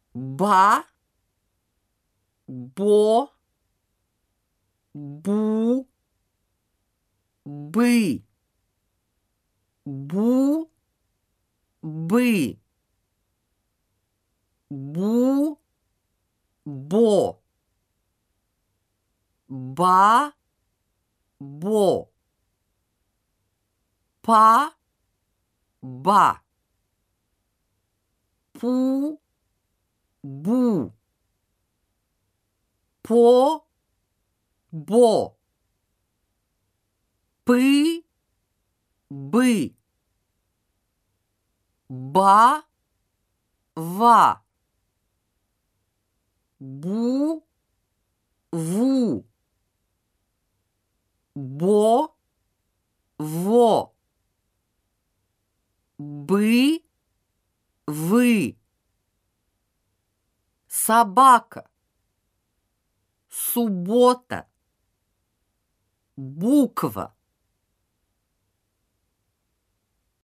ба, бо, бу, бы, бу, бы, бу, бо, ба, бо, па, ба, пу, бу, по, бо, пы, бы, ба, ва, бу, ву, бо, во, бы, вы, собака, суббота, буква.